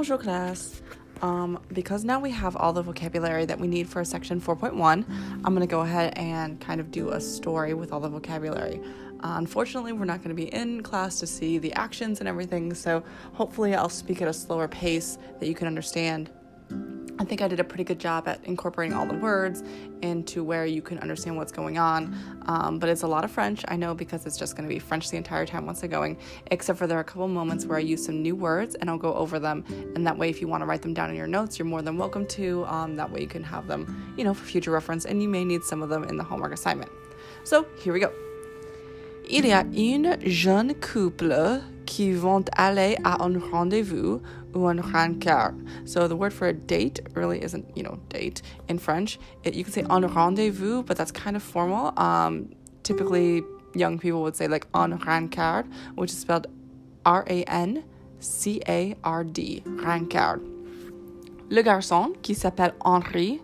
Bonjour class. Because now we have all the vocabulary that we need for section 4.1, I'm going to go ahead and kind of do a story with all the vocabulary. Unfortunately, we're not going to be in class to see the actions and everything, so hopefully I'll speak at a slower pace that you can understand. I think I did a pretty good job at incorporating all the words into where you can understand what's going on, but it's a lot of French, I know, because it's just going to be French the entire time once I'm going, except for there are a couple moments where I use some new words and I'll go over them, and that way if you want to write them down in your notes, you're more than welcome to. That way you can have them, for future reference, and you may need some of them in the homework assignment. So here we go. Il y a une jeune couple qui vont aller à un rendez-vous ou un rencontre. So the word for a date really isn't, date in French. You can say un rendezvous, but that's kind of formal. Typically, young people would say like un rencontre, which is spelled R-A-N-C-A-R-D, rencontre. Le garçon, qui s'appelle Henry,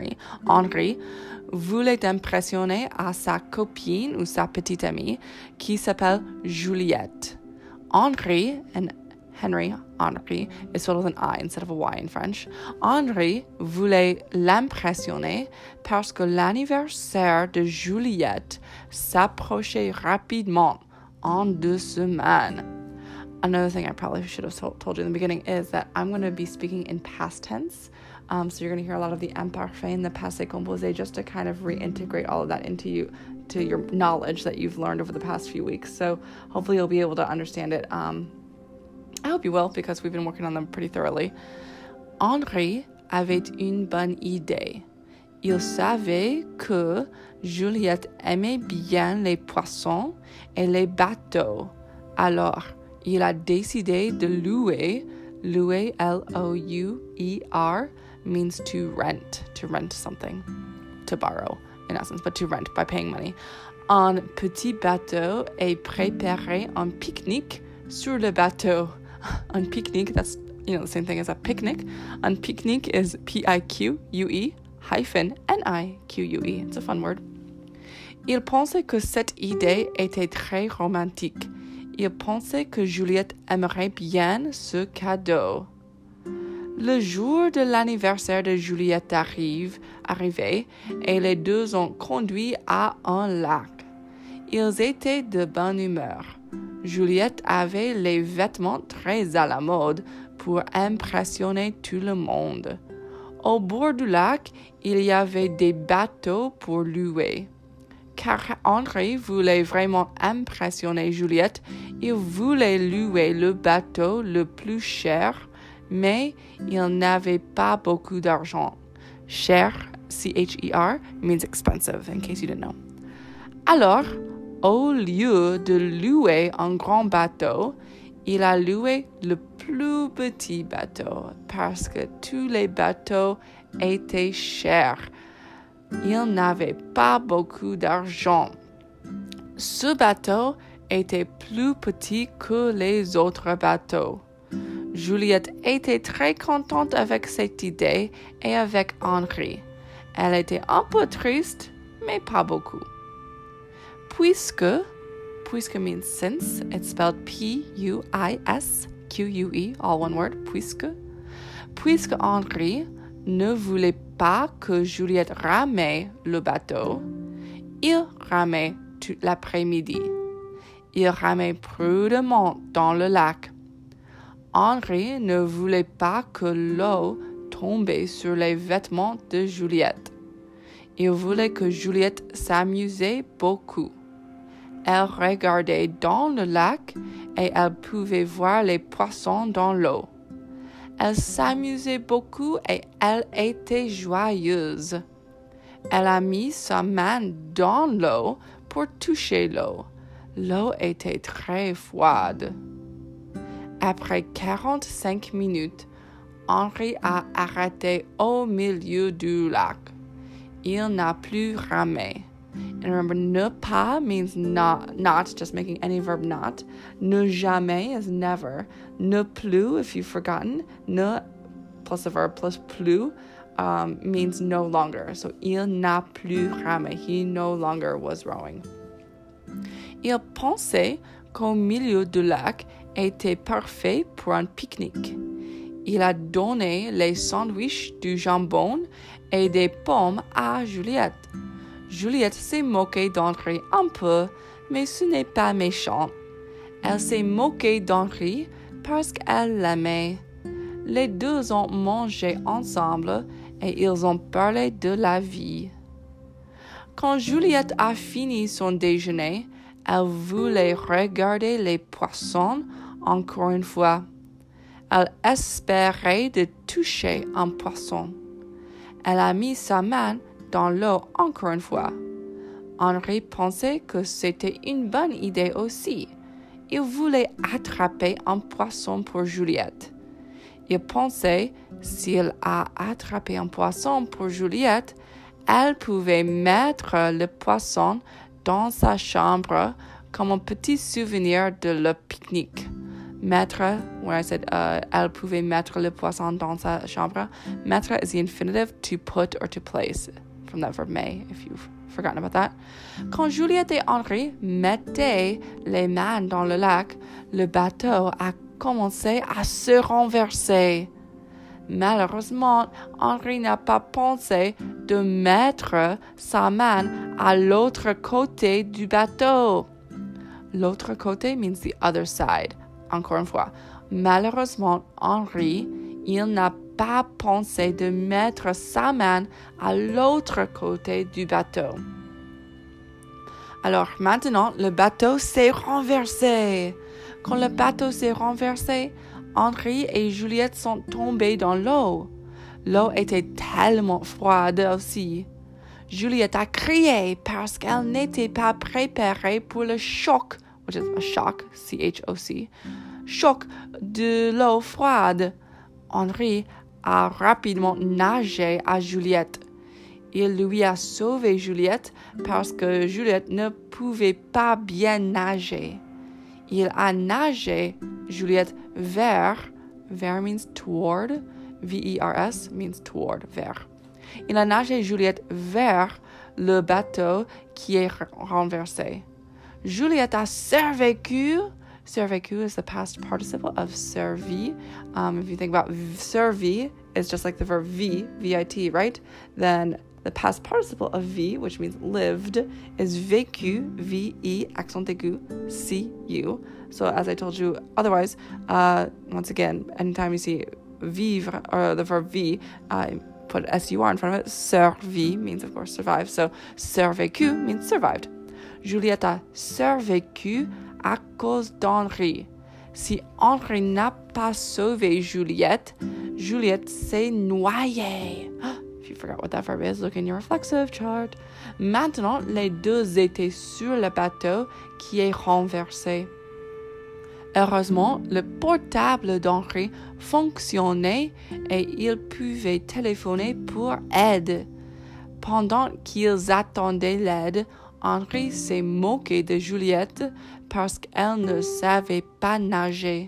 voulait impressionner à sa copine ou sa petite amie qui s'appelle Juliette. Henry is spelled with an I instead of a Y in French. Henry voulait l'impressionner parce que l'anniversaire de Juliette s'approchait rapidement en 2 semaines. Another thing I probably should have told you in the beginning is that I'm going to be speaking in past tense. So you're going to hear a lot of the imparfait and the passé composé just to kind of reintegrate all of that into your knowledge that you've learned over the past few weeks. So hopefully you'll be able to understand it. I hope you will, because we've been working on them pretty thoroughly. Henri avait une bonne idée. Il savait que Juliette aimait bien les poissons et les bateaux. Alors, il a décidé de louer, L-O-U-E-R, means to rent something, to borrow in essence, but to rent by paying money. Un petit bateau et préparer un pique-nique sur le bateau. Un pique-nique, that's the same thing as a picnic. Un pique-nique is P-I-Q-U-E N-I-Q-U-E. It's a fun word. Il pensait que cette idée était très romantique. Il pensait que Juliette aimerait bien ce cadeau. Le jour de l'anniversaire de Juliette arrivé, et les deux ont conduit à un lac. Ils étaient de bonne humeur. Juliette avait les vêtements très à la mode pour impressionner tout le monde. Au bord du lac, il y avait des bateaux pour louer. Car Henri voulait vraiment impressionner Juliette, il voulait louer le bateau le plus cher, mais il n'avait pas beaucoup d'argent. Cher, C-H-E-R, means expensive, in case you didn't know. Alors, au lieu de louer un grand bateau, il a loué le plus petit bateau, parce que tous les bateaux étaient chers. Il n'avait pas beaucoup d'argent. Ce bateau était plus petit que les autres bateaux. Juliette était très contente avec cette idée et avec Henri. Elle était un peu triste, mais pas beaucoup. Puisque means since, it's spelled P-U-I-S-Q-U-E, all one word, puisque Henri ne voulait pas que Juliette ramait le bateau, il ramait tout l'après-midi. Il ramait prudemment dans le lac. Henri ne voulait pas que l'eau tombe sur les vêtements de Juliette. Il voulait que Juliette s'amusait beaucoup. Elle regardait dans le lac et elle pouvait voir les poissons dans l'eau. Elle s'amusait beaucoup et elle était joyeuse. Elle a mis sa main dans l'eau pour toucher l'eau. L'eau était très froide. Après 45 minutes, Henri a arrêté au milieu du lac. Il n'a plus ramé. And remember, ne pas means not, just making any verb not. Ne jamais is never. Ne plus, if you've forgotten. Ne plus a verb plus plus means no longer. So, il n'a plus ramé. He no longer was rowing. Il pensait qu'au milieu du lac était parfait pour un pique-nique. Il a donné les sandwichs, du jambon et des pommes à Juliette. Juliette s'est moquée d'Henri un peu, mais ce n'est pas méchant. Elle s'est moquée d'Henri parce qu'elle l'aimait. Les deux ont mangé ensemble et ils ont parlé de la vie. Quand Juliette a fini son déjeuner, elle voulait regarder les poissons encore une fois. Elle espérait de toucher un poisson. Elle a mis sa main dans l'eau encore une fois. Henri pensait que c'était une bonne idée aussi. Il voulait attraper un poisson pour Juliette. Il pensait, s'il a attrapé un poisson pour Juliette, elle pouvait mettre le poisson dans sa chambre comme un petit souvenir de le pique-nique. Mettre, when I said elle pouvait mettre le poisson dans sa chambre, mettre is the infinitive to put or to place, from that verb may, if you've forgotten about that. Quand Juliette et Henri mettaient les mains dans le lac, le bateau a commencé à se renverser. Malheureusement, Henri n'a pas pensé de mettre sa main à l'autre côté du bateau. L'autre côté means the other side. Encore une fois, malheureusement, Henri, il n'a pas pensé de mettre sa main à l'autre côté du bateau. Alors maintenant, le bateau s'est renversé. Quand le bateau s'est renversé, Henri et Juliette sont tombés dans l'eau. L'eau était tellement froide aussi. Juliette a crié parce qu'elle n'était pas préparée pour le choc, which is a shock, C-H-O-C, choc de l'eau froide. Henri a rapidement nagé à Juliette. Il lui a sauvé Juliette parce que Juliette ne pouvait pas bien nager. Il a nagé Juliette vers means toward, V-E-R-S means toward, vers. Il a nagé Juliette vers le bateau qui est renversé. Juliette a survécu. Survécu is the past participle of servi. If you think about servi, it's just like the verb V, V-I-T, right? Then the past participle of V, which means lived, is vécu, V-E, accent aigu, C-U. So as I told you, otherwise, once again, anytime you see vivre, or the verb V, put S-U-R in front of it. Survi means, of course, survive. So survécu means survived. Juliette a survécu à cause d'Henri. Si Henri n'a pas sauvé Juliette, Juliette s'est noyée. If you forgot what that verb is, look in your reflexive chart. Maintenant, les deux étaient sur le bateau qui est renversé. Heureusement, le portable d'Henri fonctionnait et il pouvait téléphoner pour aide. Pendant qu'ils attendaient l'aide, Henri s'est moqué de Juliette parce qu'elle ne savait pas nager.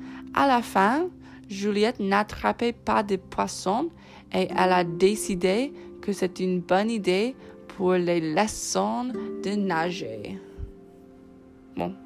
À la fin, Juliette n'attrapait pas de poissons et elle a décidé que c'est une bonne idée pour les leçons de nager. Bon.